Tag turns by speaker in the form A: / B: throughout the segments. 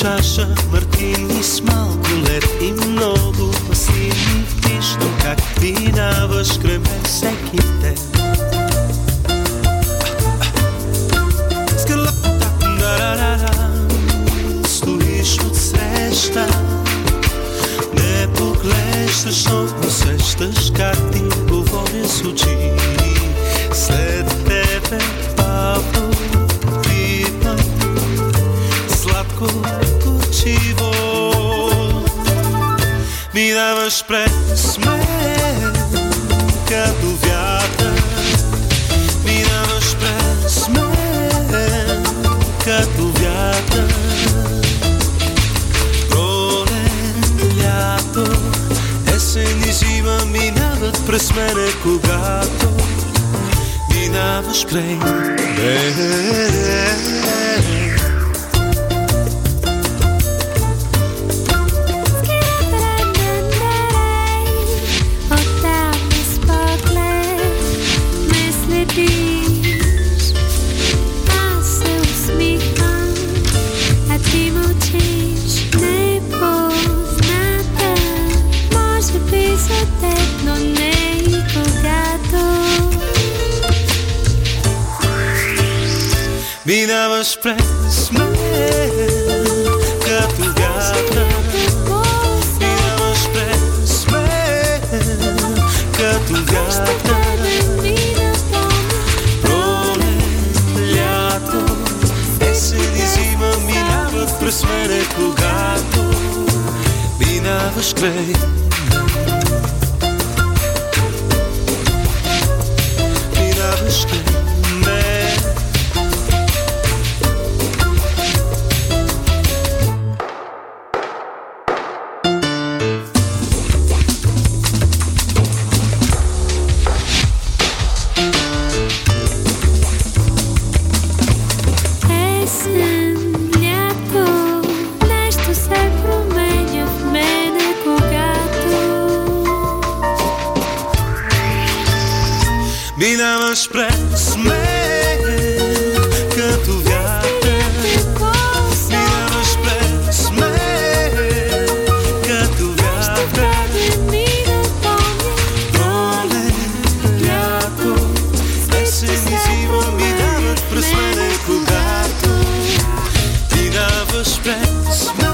A: чаша мартини с малко лед и много пасивни. Виждам как минаваш край мен всеки ден. Стоиш отсреща, не поглеждаш, но усещаш как ти говоря с очи. След тебе бавно пивам сладко горчиво. Минаваш през мен като вятър. Минаваш през мен като вятър. Пролет, лято, есен и зима минават през мене, когато минаваш край мен. Минаваш през мен като вятър. Минаваш през мен като вятър. Пролет, лято, есен и зима минават през мене, когато минаваш край мен. Минаваш край мен. Минаваш през мен като вятър. Минаваш през мен като вятър. Пролет, лято, есен и зима минават през мене, когато минаваш през мен.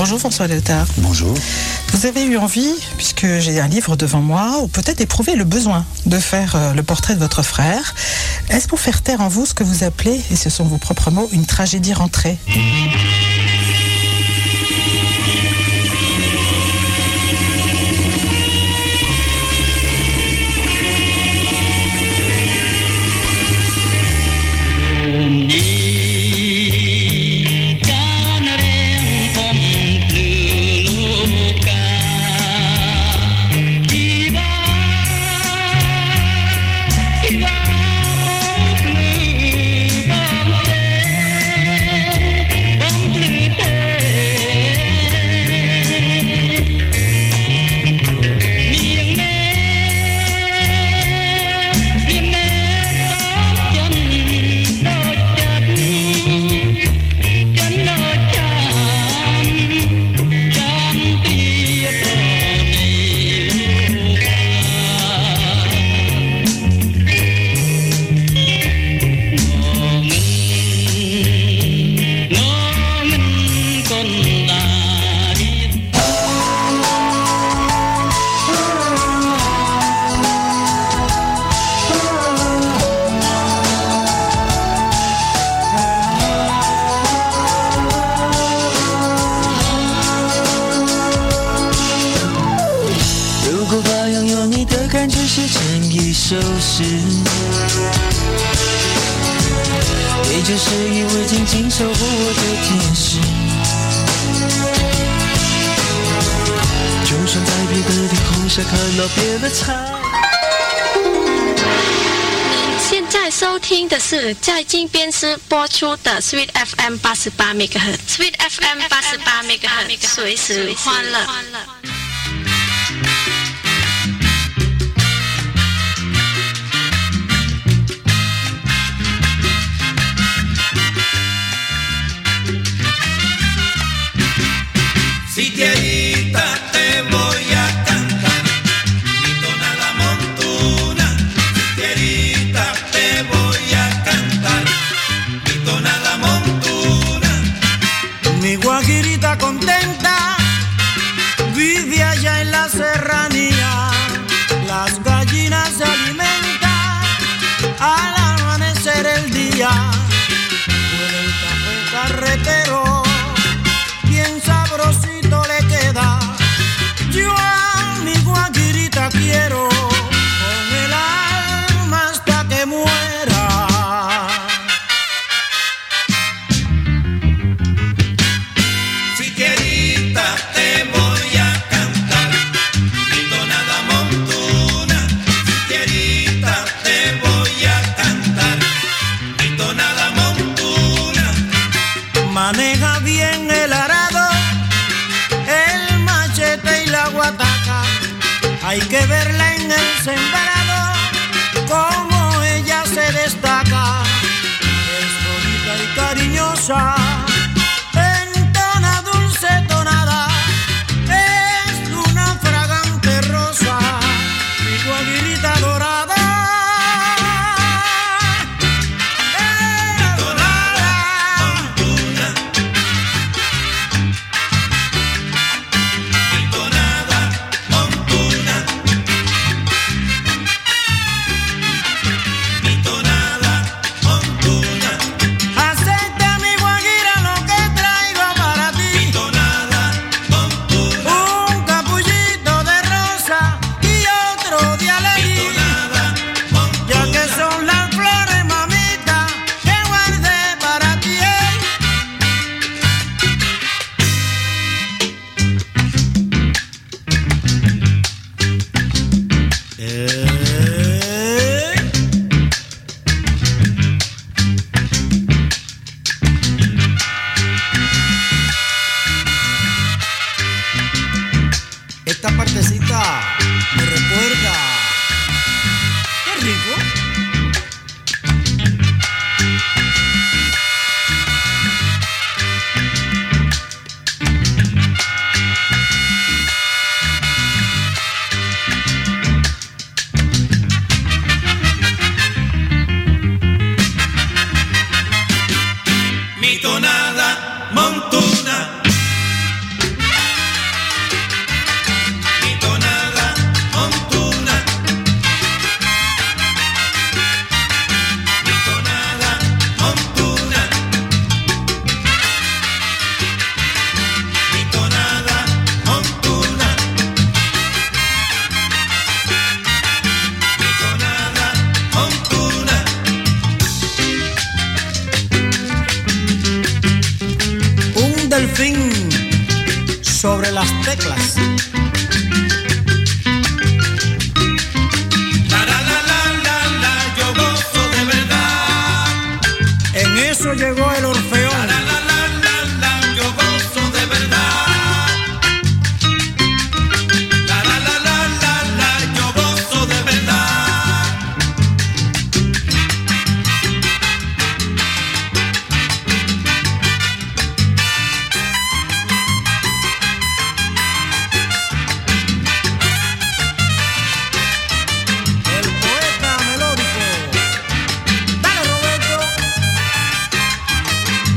B: Bonjour François Léotard.
C: Bonjour.
B: Vous avez eu envie, puisque j'ai un livre devant moi, ou peut-être éprouvé le besoin de faire le portrait de votre frère. Est-ce pour faire taire en vous ce que vous appelez, et ce sont vos propres mots, une tragédie rentrée ?
D: 现在收听的是在金边市播出的 Sweet FM 88 MHz，Sweet FM 88 MHz， 随时欢乐。
A: Contenta, vive allá en la serranía, las gallinas se alimentan al amanecer el día, huele el café carretero, bien sabrosito le queda, yo a mi guajirita quiero, con el alma hasta que muera. Maneja bien el arado, el machete y la guataca. Hay que verla en el sembrado, como ella se destaca. Es bonita y cariñosa, entona dulce tonada, es una fragante rosa, mi guajirita dorada. Aceita mi guajira.
C: sobre las teclas.
A: Yo gozo de verdad.
C: En eso llegó el Orfeón.
A: Yo gozo de verdad. Yo gozo de verdad.
C: El poeta melódico. Dale, Roberto.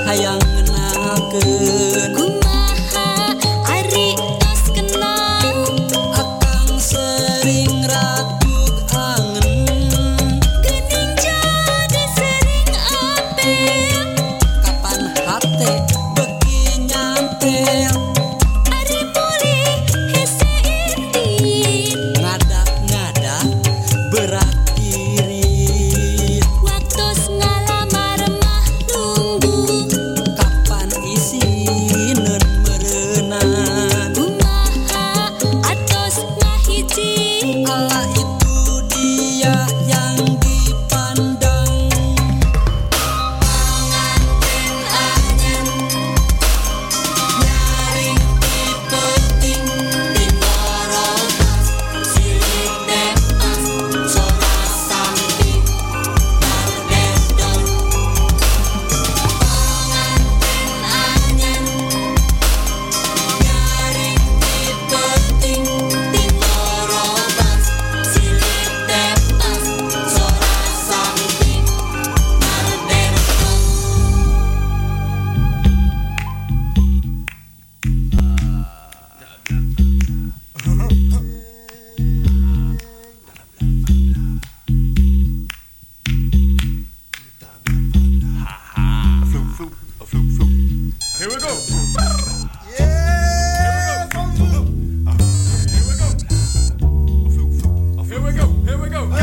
E: hayang ngenalkeun
F: kumaha ari tos kenal
E: akang sering ragut angen
F: geuning jadi sering apel
E: kapan hate beki nyantel
F: ari mulih hese intit
E: ngadak-ngadak berat irit
F: waktos ngalamar mah nunggu
E: kapan isinen merenang
F: kumaha atos ngahiji
E: ala itu dia yang dipandang
F: panganten anyen
E: nyaring dipeting
F: timorotas silik depas sora sampi bardendong panganten anyen
E: nyaring dipeting
F: timorotas silik depas sora sampi bardendong
G: Here we go. Here we go. Here we go.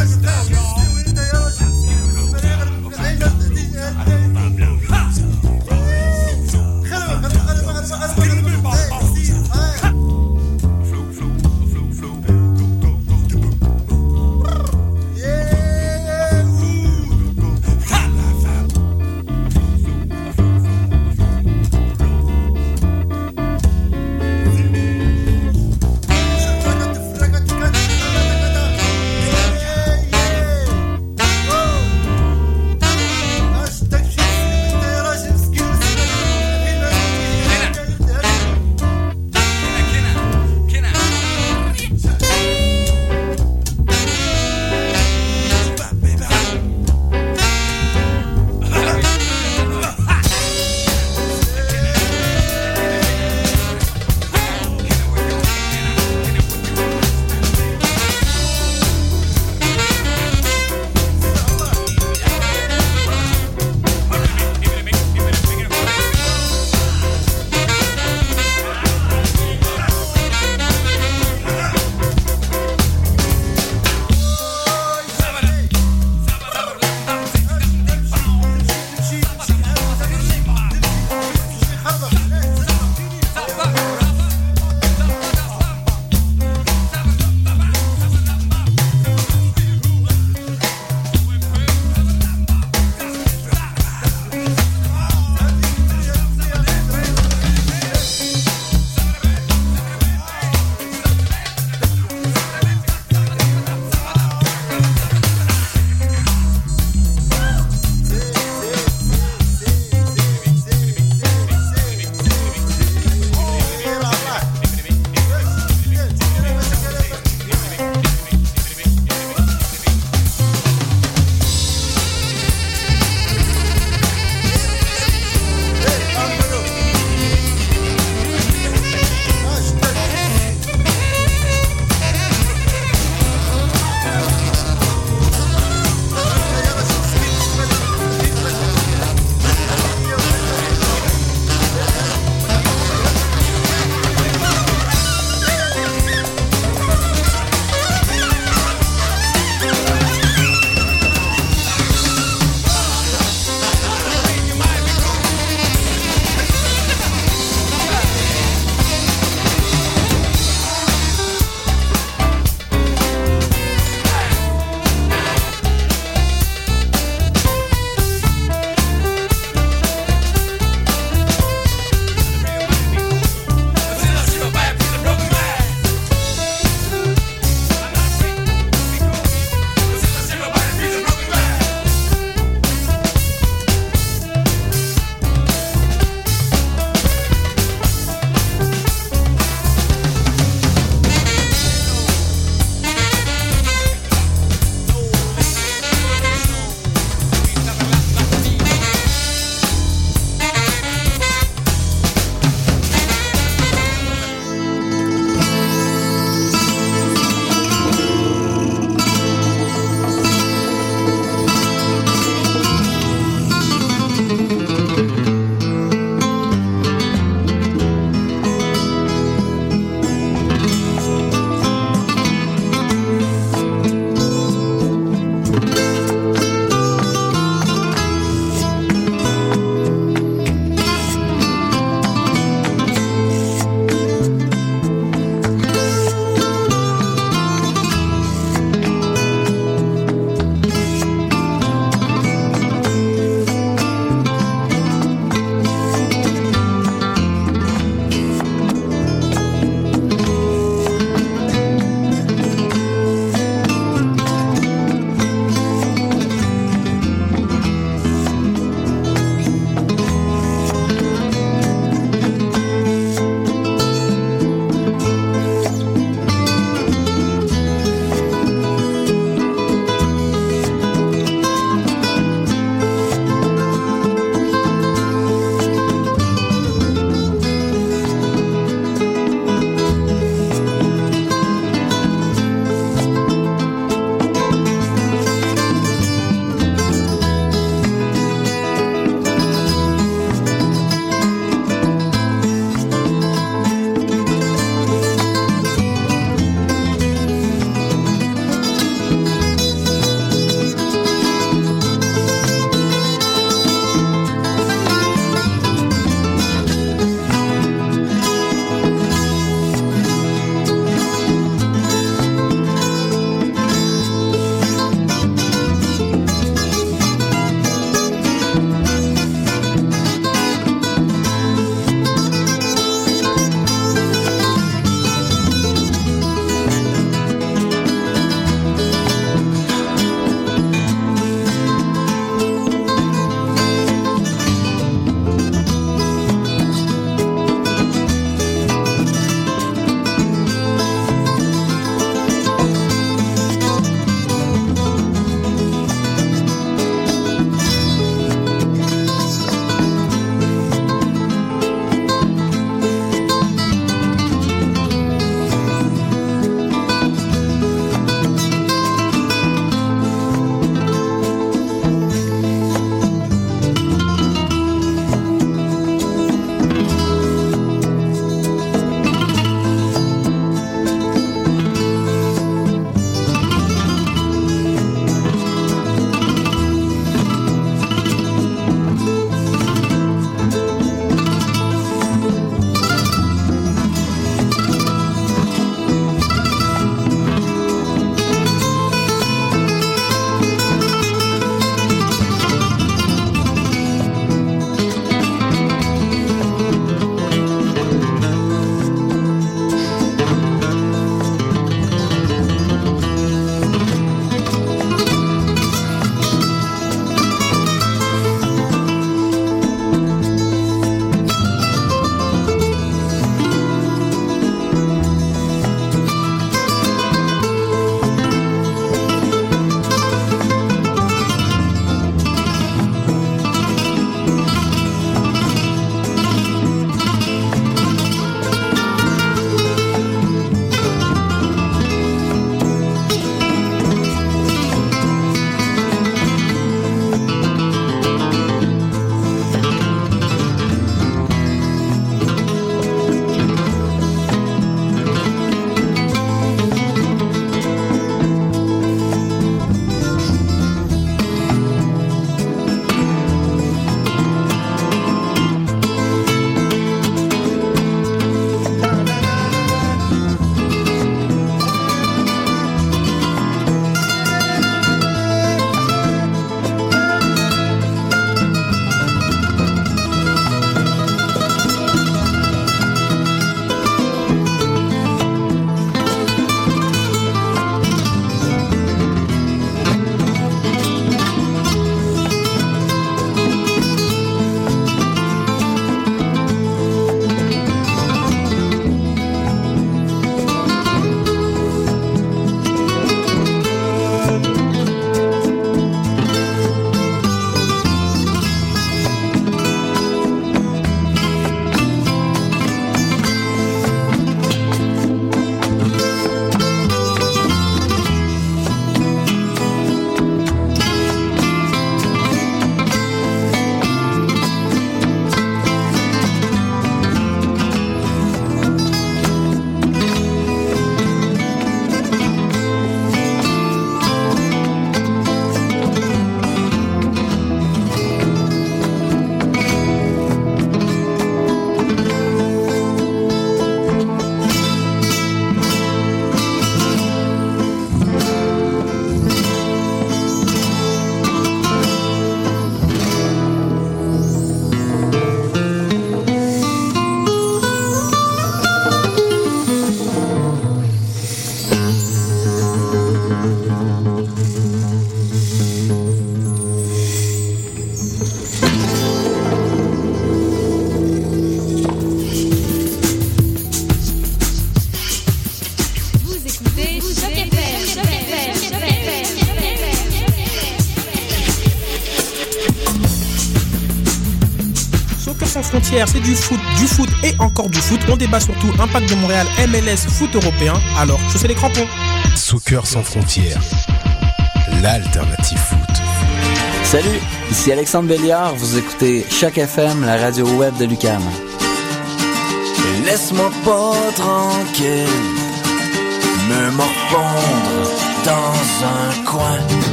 H: sans frontières, c'est du foot et encore du foot. On débat surtout Impact de Montréal, MLS, foot européen. Alors, chaussez les crampons.
I: Soccer sans frontières, l'alternative foot.
J: Salut, ici Alexandre Béliard, vous écoutez Choc FM, la radio web de l'UQAM.
K: Laisse-moi pas tranquille, me morfondre dans un coin.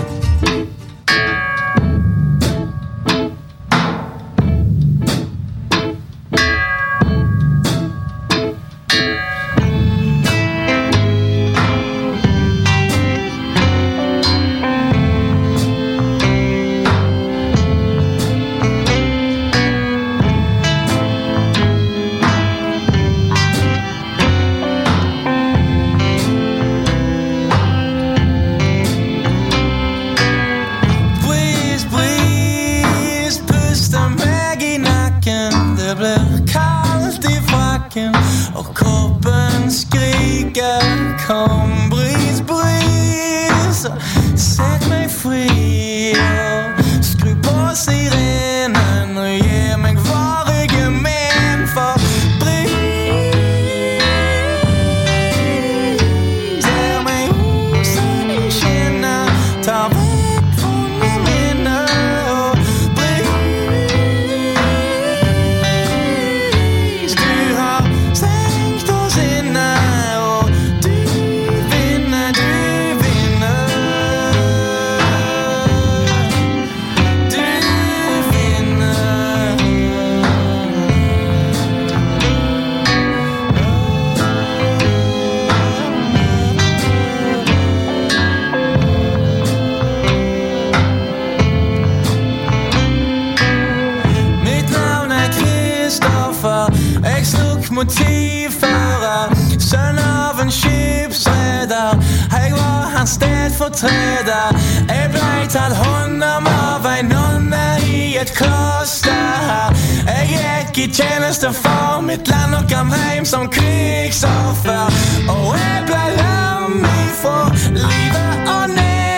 L: Träda blivit all honom av en nonna i ett kloster. Jag gick i tjänsten för mitt land och kom hem som krigsoffer. Och jag blev ifrån livet och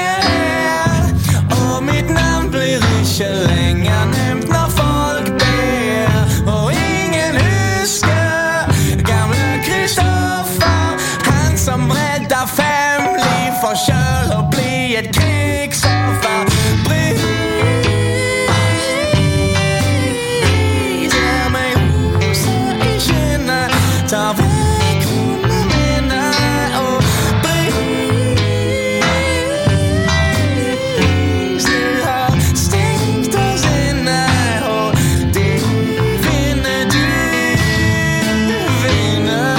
L: ner. Och mitt namn blir inte längre nämnt när folk ber. Och ingen huskar gamla Kristoffer, han som räddar 5 liv för köl och bli ett krigsoffer. Bris ger mig rosor i kinna, tar väck mina minnen och bris du har stängt oss inne och du vinner, du vinner.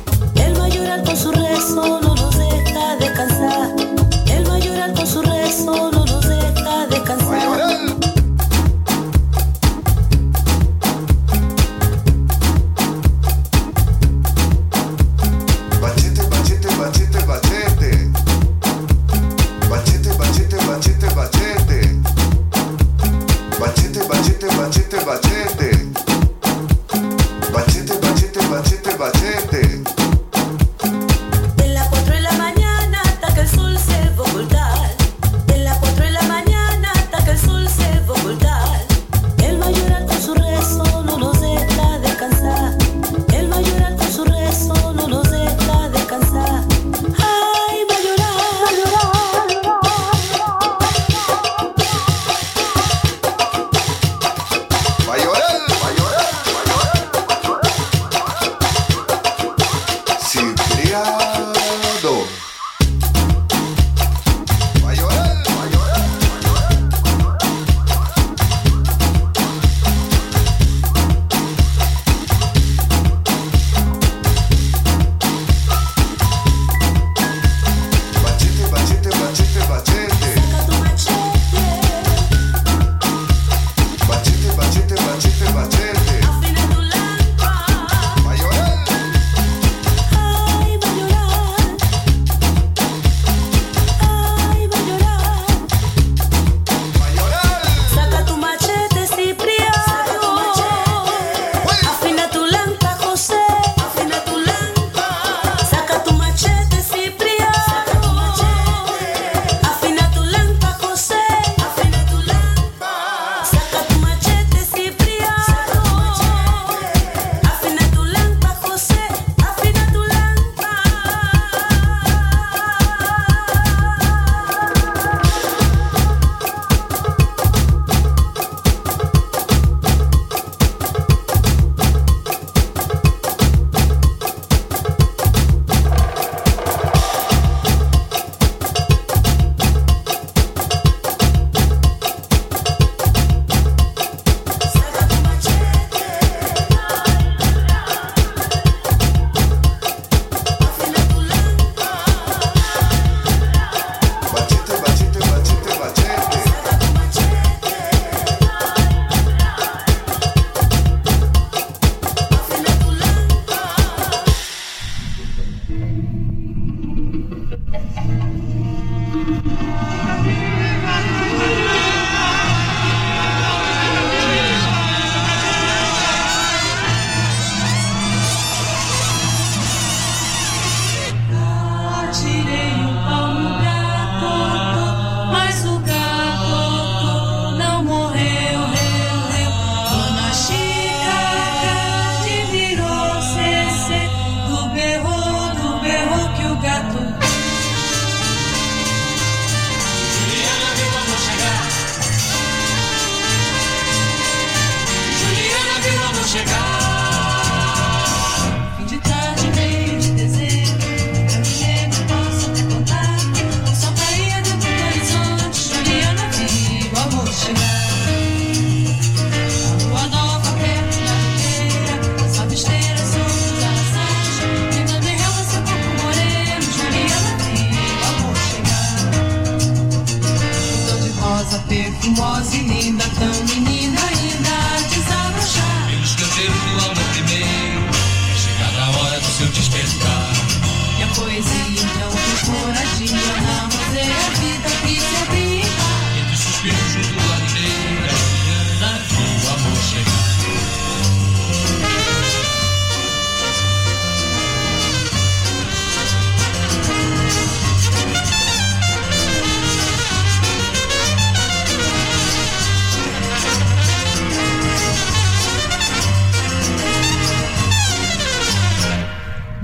M: Con su rezo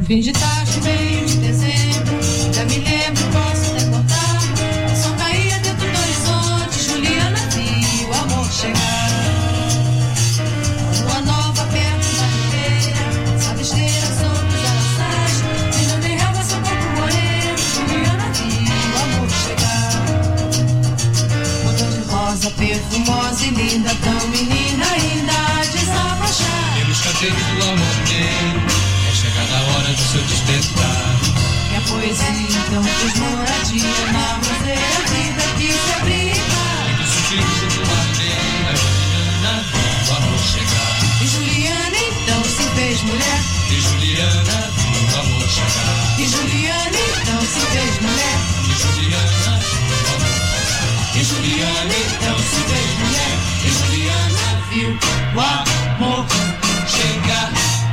M: Fim de tarde, meio de dezembro, já me lembro, posso até contar. O som caía dentro do horizonte, Juliana viu o amor chegar. Lua nova perto da ribeira, sabe esteira sobre os araçás. Menina nem relva, seu corpo moreno, Juliana viu o amor chegar. Botão de rosa perfumosa e linda, tão menina ainda há de desabrochar.
N: Pelos cabelos do amor meu, chegada a hora do seu despertar.
M: E a poesia então fez moradia na roseira vida que se abriga.
N: E do suspiro do ardeira, Juliana viu o amor chegar.
M: E Juliana então se fez mulher.
N: E Juliana viu o amor chegar.
M: E Juliana então se fez mulher.
N: E Juliana viu o amor chegar.
M: E Juliana então se fez mulher. E Juliana viu o amor chegar.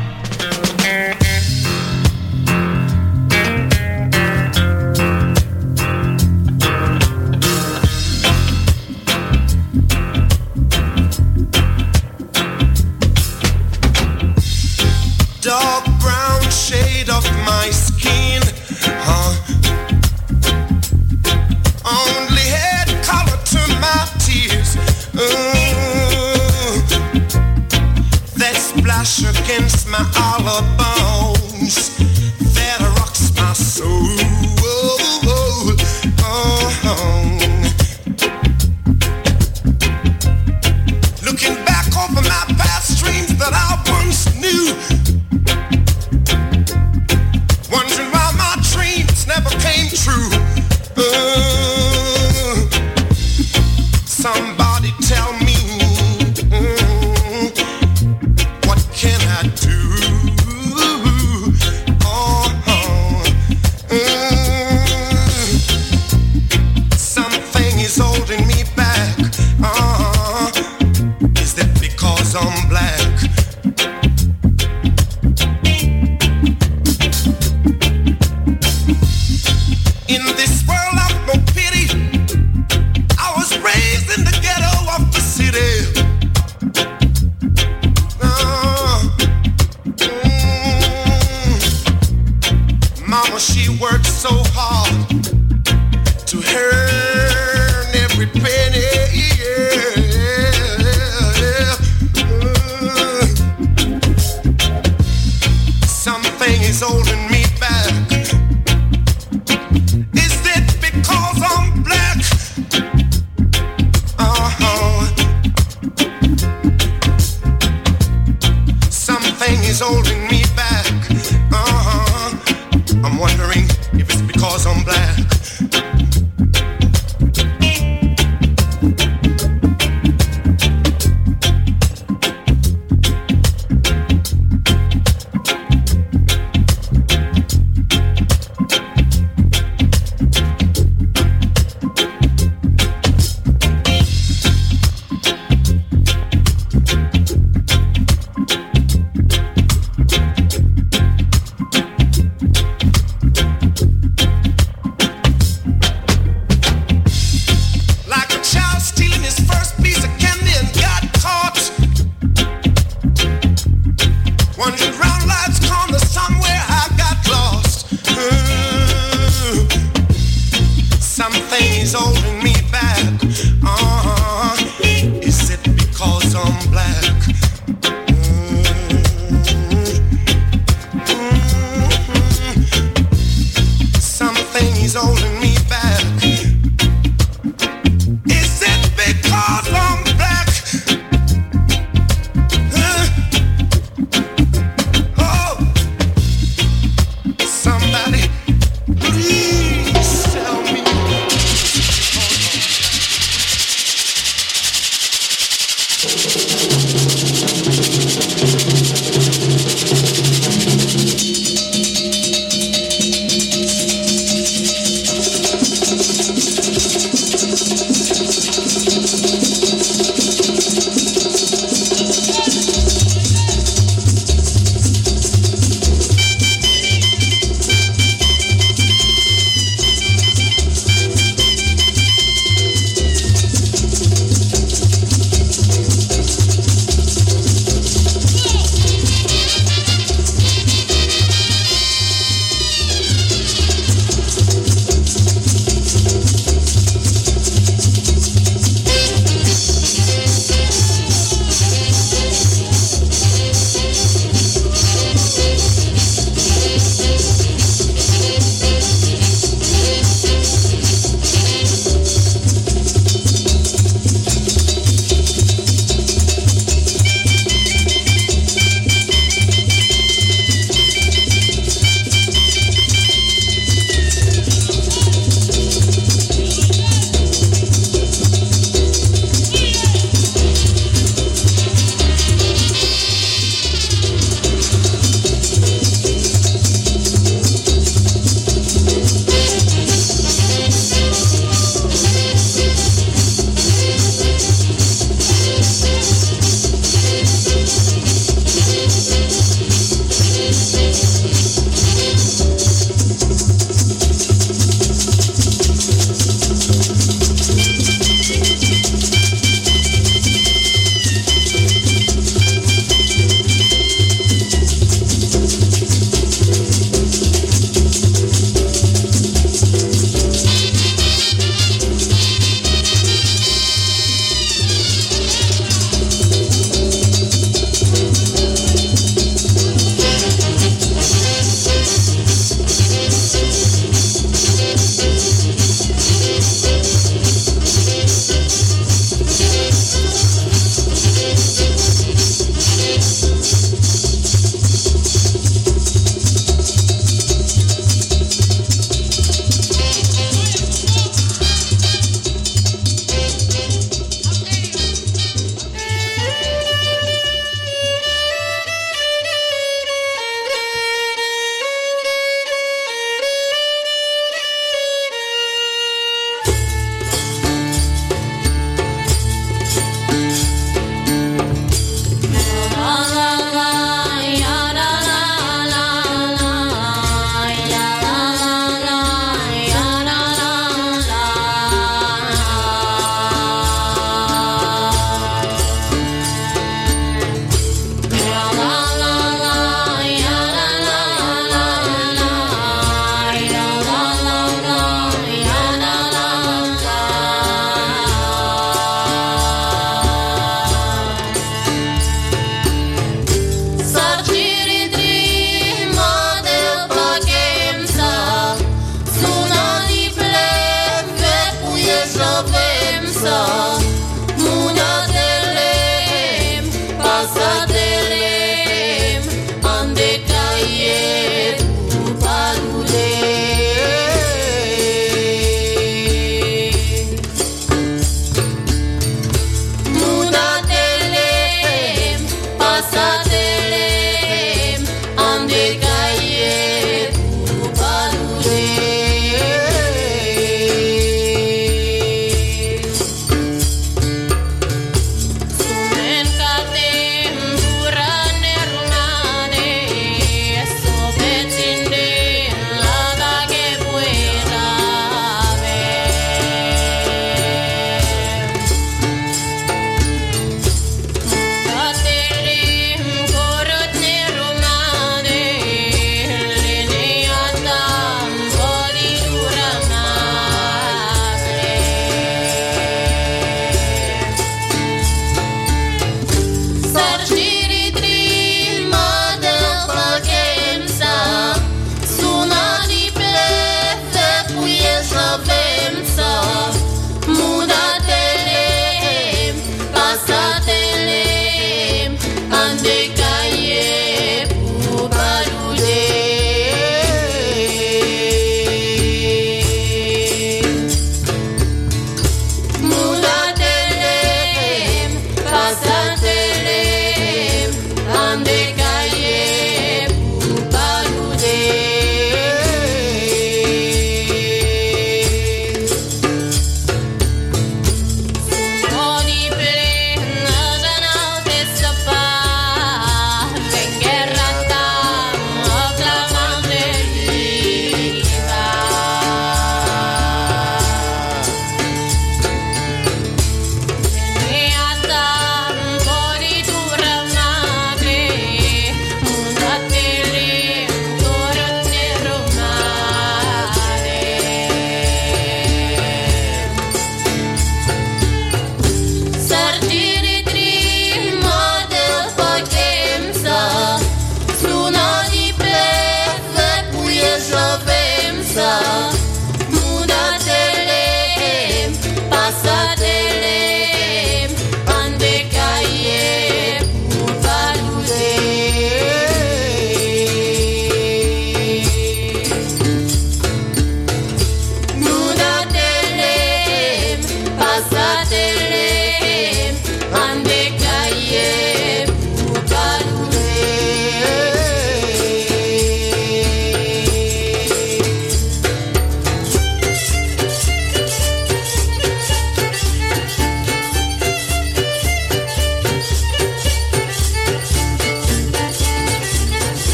A: Dark brown shade of my skin, only had color to my tears. That splash against my hollow bones, that rocks my soul. Looking back over my past dreams that I once knew, wondering why my dreams never came true. Somebody tell me, what can I do? Something is holding me back. Is that because I'm black? In this world of no pity, I was raised in the ghetto of the city. Mama, she worked so hard to earn every penny. Something is holding me back. Is it because I'm black? Something is holding me back. I'm wondering if it's because I'm black.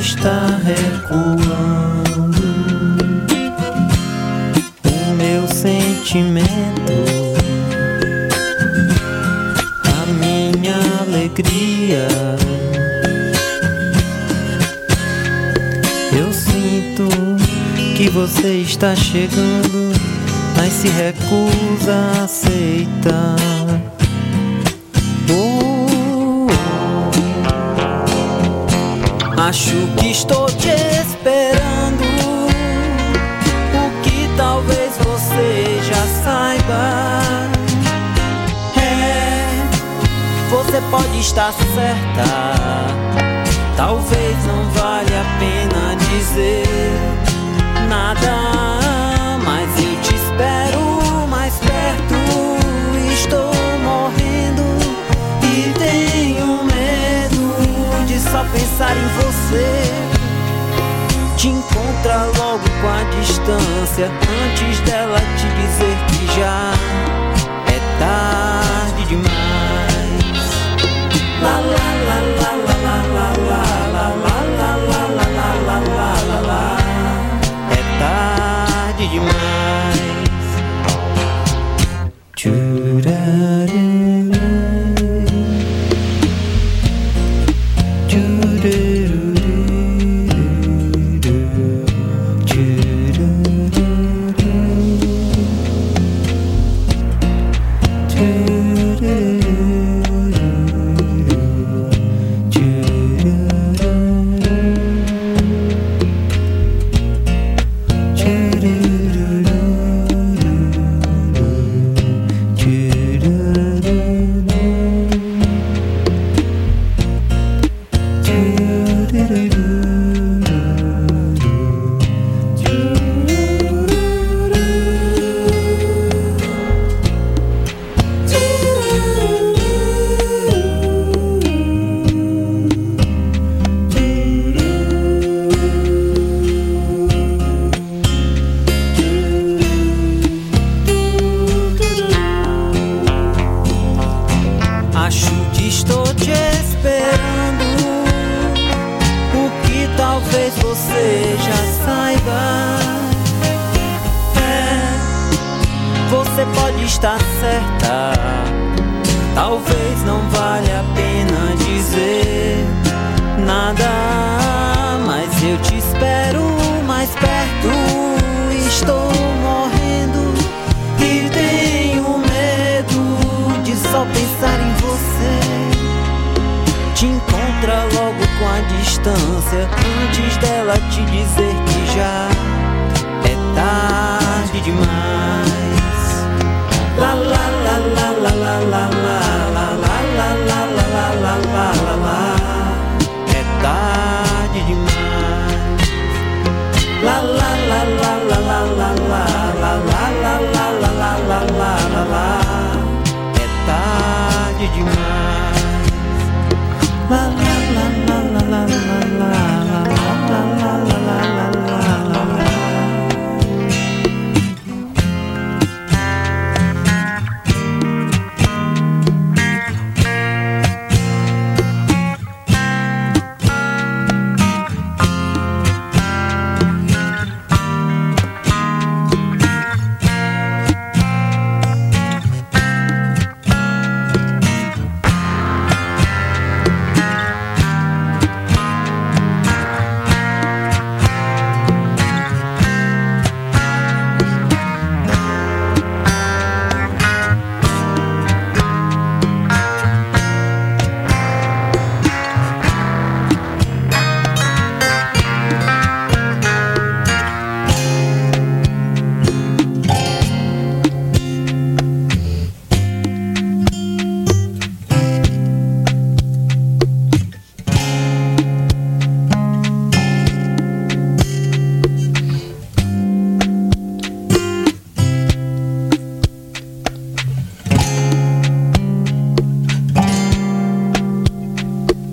O: está recuando o meu sentimento, a minha alegria. Eu sinto que você está chegando, mas se recusa a aceitar. Acho que estou te esperando, o que talvez você já saiba. Você pode estar certa, talvez não valha a pena dizer nada, mas eu te espero mais perto. Estou morrendo e tenho medo de só pensar em você. Te encontra logo com a distância, antes dela te dizer que já é tarde demais. La la la la la la la la la la la la la. É tarde demais.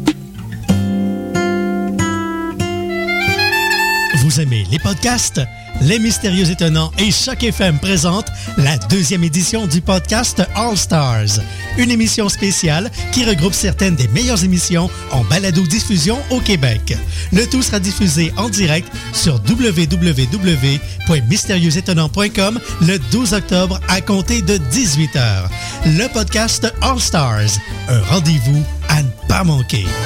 P: Vous aimez les podcasts? Les Mystérieux Étonnants et Choc FM présentent la 2e édition du podcast All Stars, une émission spéciale qui regroupe certaines des meilleures émissions en balado-diffusion au Québec. Le tout sera diffusé en direct sur www.mystérieuxétonnants.com le 12 octobre à compter de 18h. Le podcast All Stars, un rendez-vous à ne pas manquer.